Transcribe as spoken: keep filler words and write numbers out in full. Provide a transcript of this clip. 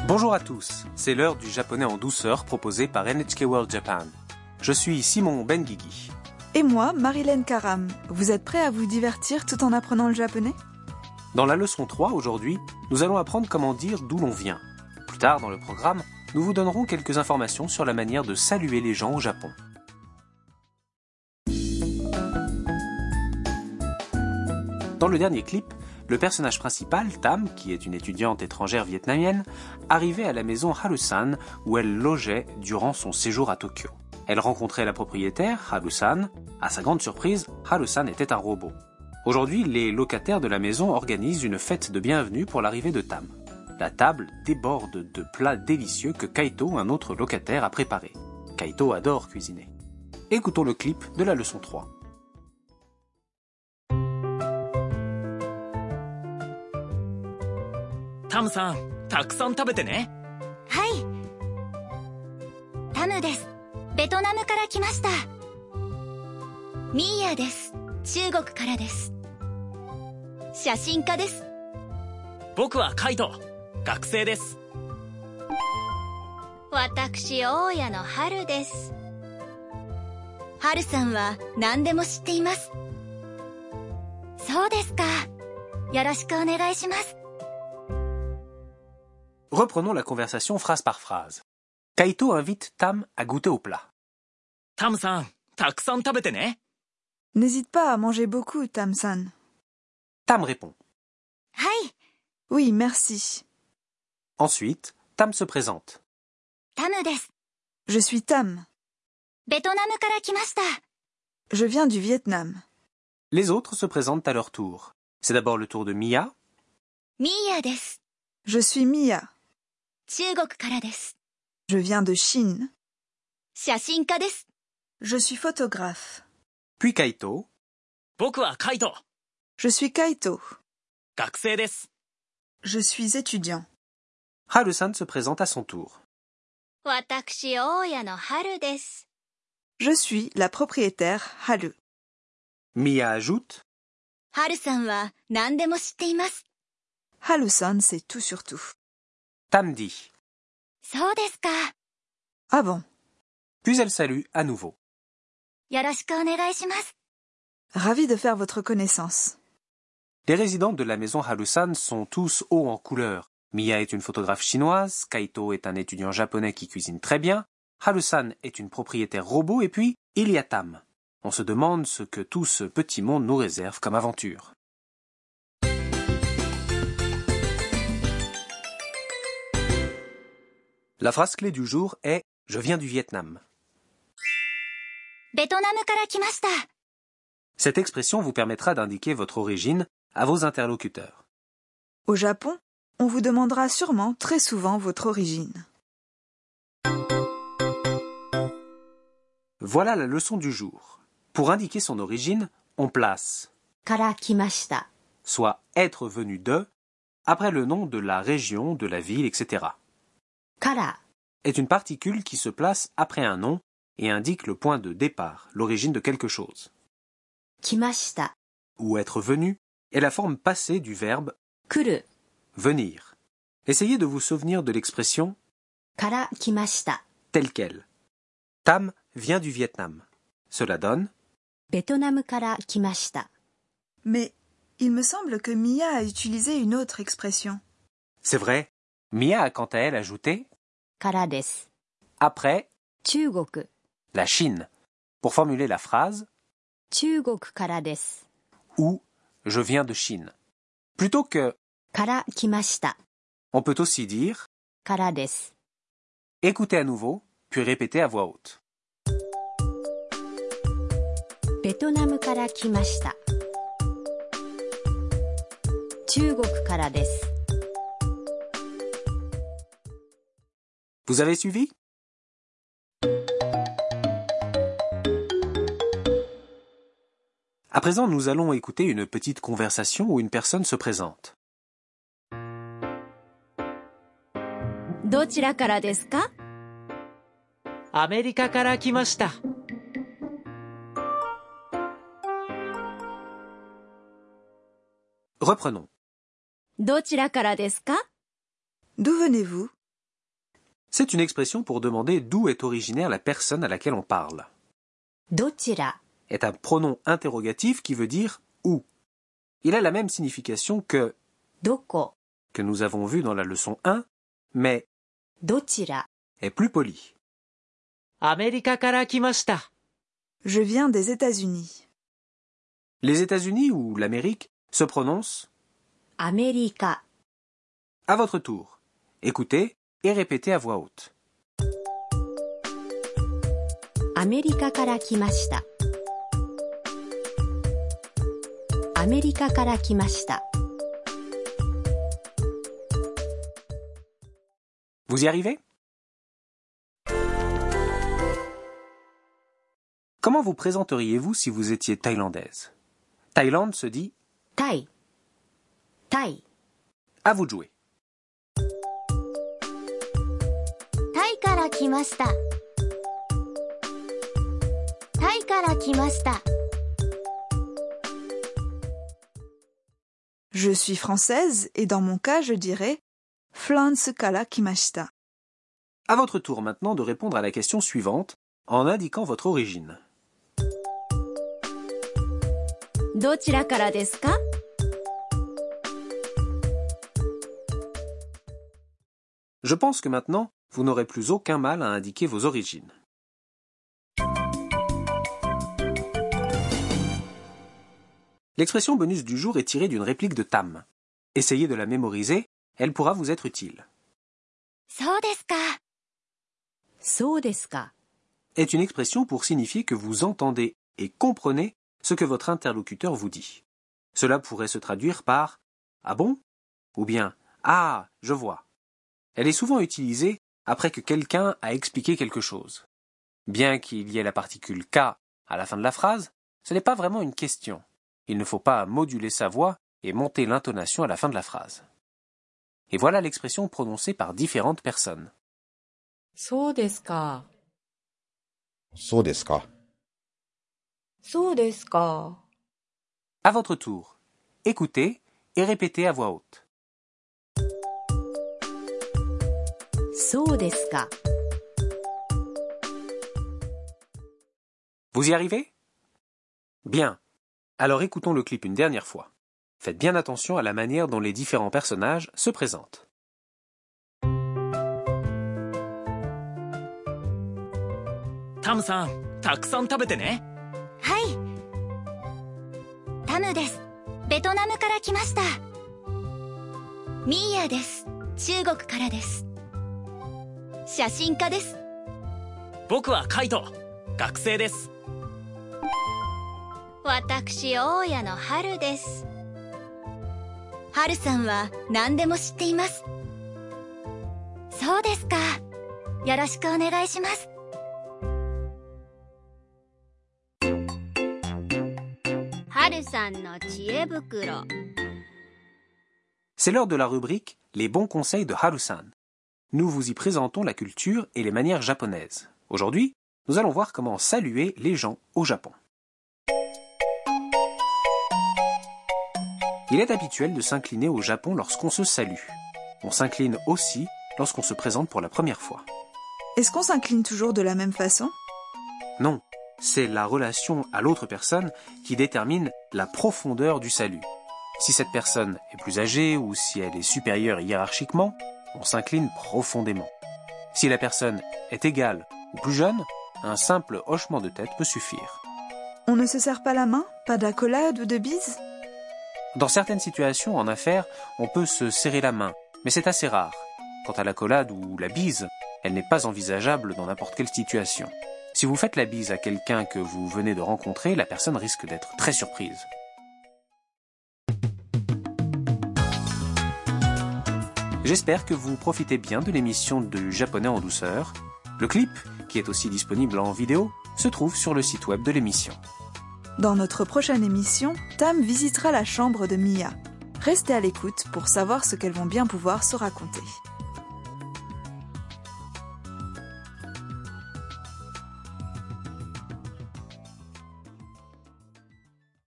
Bonjour à tous, c'est l'heure du japonais en douceur proposé par N H K World Japan. Je suis Simon Benguigui. Et moi, Marilyn Karam. Vous êtes prêts à vous divertir tout en apprenant le japonais ? Dans la leçon trois, aujourd'hui, nous allons apprendre comment dire d'où l'on vient. Plus tard dans le programme, nous vous donnerons quelques informations sur la manière de saluer les gens au Japon. Dans le dernier clip, le personnage principal, Tam, qui est une étudiante étrangère vietnamienne, arrivait à la maison Haru-san où elle logeait durant son séjour à Tokyo. Elle rencontrait la propriétaire, Haru-san. À sa grande surprise, Haru-san était un robot. Aujourd'hui, les locataires de la maison organisent une fête de bienvenue pour l'arrivée de Tam. La table déborde de plats délicieux que Kaito, un autre locataire, a préparés. Kaito adore cuisiner. Écoutons le clip de la leçon trois. Tam-san, たくさん食べてね。 はい。タムです。ベトナムから来ました。ミーヤです。中国からです。写真家です。 僕はカイト、学生です。 私、大家の春です。春さんは何でも知っています。そうですか。よろしくお願いします。 Reprenons la conversation phrase par phrase. Kaito invite Tam à goûter au plat. Tam-san, たくさん食べてね。 N'hésite pas à manger beaucoup, Tam-san. Tam répond. はい。 Oui, merci. Ensuite, Tam se présente. タムです。 Je suis Tam. ベトナムから来ました。 Je viens du Vietnam. Les autres se présentent à leur tour. C'est d'abord le tour de Mia. ミーヤです。 Je suis Mia. 中国からです。 Je viens de Chine. 写真家です。 Je suis photographe. Puis Kaito. 僕はカイト、 Je suis Kaito. 学生です。 Je suis étudiant. Haru-san se présente à son tour. 私、大家の春です。 Je suis la propriétaire Haru. Mia ajoute. 春さんは何でも知っています。 Haru-san, c'est tout sur tout. Tam dit. そうですか。 Ah bon? Puis elle salue à nouveau. よろしくお願いします。 Ravi de faire votre connaissance. Les résidents de la maison Haru-san sont tous hauts en couleur. Mia est une photographe chinoise, Kaito est un étudiant japonais qui cuisine très bien, Haru-san est une propriétaire robot et puis il y a Tam. On se demande ce que tout ce petit monde nous réserve comme aventure. La phrase clé du jour est « Je viens du Vietnam ». ベトナムから来ました。 Cette expression vous permettra d'indiquer votre origine à vos interlocuteurs. Au Japon, on vous demandera sûrement très souvent votre origine. Voilà la leçon du jour. Pour indiquer son origine, on place から来ました。 soit être venu de après le nom de la région, de la ville, et cetera. から est une particule qui se place après un nom et indique le point de départ, l'origine de quelque chose. 来ました。 Ou être venu est la forme passée du verbe 来る venir. Essayez de vous souvenir de l'expression から来ました。 telle qu'elle. Tam vient du Vietnam. Cela donne ベトナムから来ました。 Mais il me semble que Mia a utilisé une autre expression. c'est vrai. Mia a quant à elle ajouté からです。 après 中国 la Chine pour formuler la phrase 中国からです。 ou je viens de Chine. Plutôt que から来ました。 on peut aussi dire からです。 écoutez à nouveau puis répétez à voix haute. ベトナムから来ました。中国からです。 Vous avez suivi? À présent, nous allons écouter une petite conversation où une personne se présente. どちらからですか？ アメリカから来ました。 Reprenons. どちらからですか？ D'où venez-vous? C'est une expression pour demander d'où est originaire la personne à laquelle on parle. どちら Est un pronom interrogatif qui veut dire où. Il a la même signification que どこ que nous avons vu dans la leçon un, mais どちら est plus poli. アメリカから来ました。 Je viens des États-Unis. Les États-Unis ou l'Amérique se prononcent アメリカ à votre tour. Écoutez et répétez à voix haute. アメリカから来ましたアメリカから来ました Vous y arrivez? Comment vous présenteriez-vous si vous étiez thaïlandaise? Thaïlande se dit タイタイ à vous de jouer. タイから来ましたタイから来ました Je suis française et dans mon cas, je dirais Flans kara kimashita. À votre tour maintenant de répondre à la question suivante en indiquant votre origine. どちらからですか Je pense que maintenant, vous n'aurez plus aucun mal à indiquer vos origines. L'expression bonus du jour est tirée d'une réplique de Tam. Essayez de la mémoriser, elle pourra vous être utile. そうですかそうですか Est une expression pour signifier que vous entendez et comprenez ce que votre interlocuteur vous dit. Cela pourrait se traduire par « Ah bon ?» ou bien « Ah, je vois ». Elle est souvent utilisée après que quelqu'un a expliqué quelque chose. Bien qu'il y ait la particule « k » à la fin de la phrase, ce n'est pas vraiment une question. Il ne faut pas moduler sa voix et monter l'intonation à la fin de la phrase. Et voilà l'expression prononcée par différentes personnes. そうですか。 そうですか。 そうですか。 À votre tour, écoutez et répétez à voix haute. そうですか Vous y arrivez? Bien. Alors écoutons le clip une dernière fois. Faites bien attention à la manière dont les différents personnages se présentent. タムさん、たくさん食べてね。 はいタムですベトナムから来ましたミーヤです中国からです写真家です僕はカイト、学生です。 私大家の春です春さんは何でも知っていますそうですかよろしくお願いします C'est l'heure de la rubrique « Les bons conseils de Haru-san ». Nous vous y présentons la culture et les manières japonaises. Aujourd'hui, nous allons voir comment saluer les gens au Japon. Il est habituel de s'incliner au Japon lorsqu'on se salue. On s'incline aussi lorsqu'on se présente pour la première fois. Est-ce qu'on s'incline toujours de la même façon? Non, c'est la relation à l'autre personne qui détermine la profondeur du salut. Si cette personne est plus âgée ou si elle est supérieure hiérarchiquement, on s'incline profondément. Si la personne est égale ou plus jeune, un simple hochement de tête peut suffire. On ne se serre pas la main? Pas d'accolade ou de bise? Dans certaines situations en affaires, on peut se serrer la main, mais c'est assez rare. Quant à l'accolade ou la bise, elle n'est pas envisageable dans n'importe quelle situation. Si vous faites la bise à quelqu'un que vous venez de rencontrer, la personne risque d'être très surprise. J'espère que vous profitez bien de l'émission de Japonais en douceur. Le clip, qui est aussi disponible en vidéo, se trouve sur le site web de l'émission. Dans notre prochaine émission, Tam visitera la chambre de Mia. Restez à l'écoute pour savoir ce qu'elles vont bien pouvoir se raconter.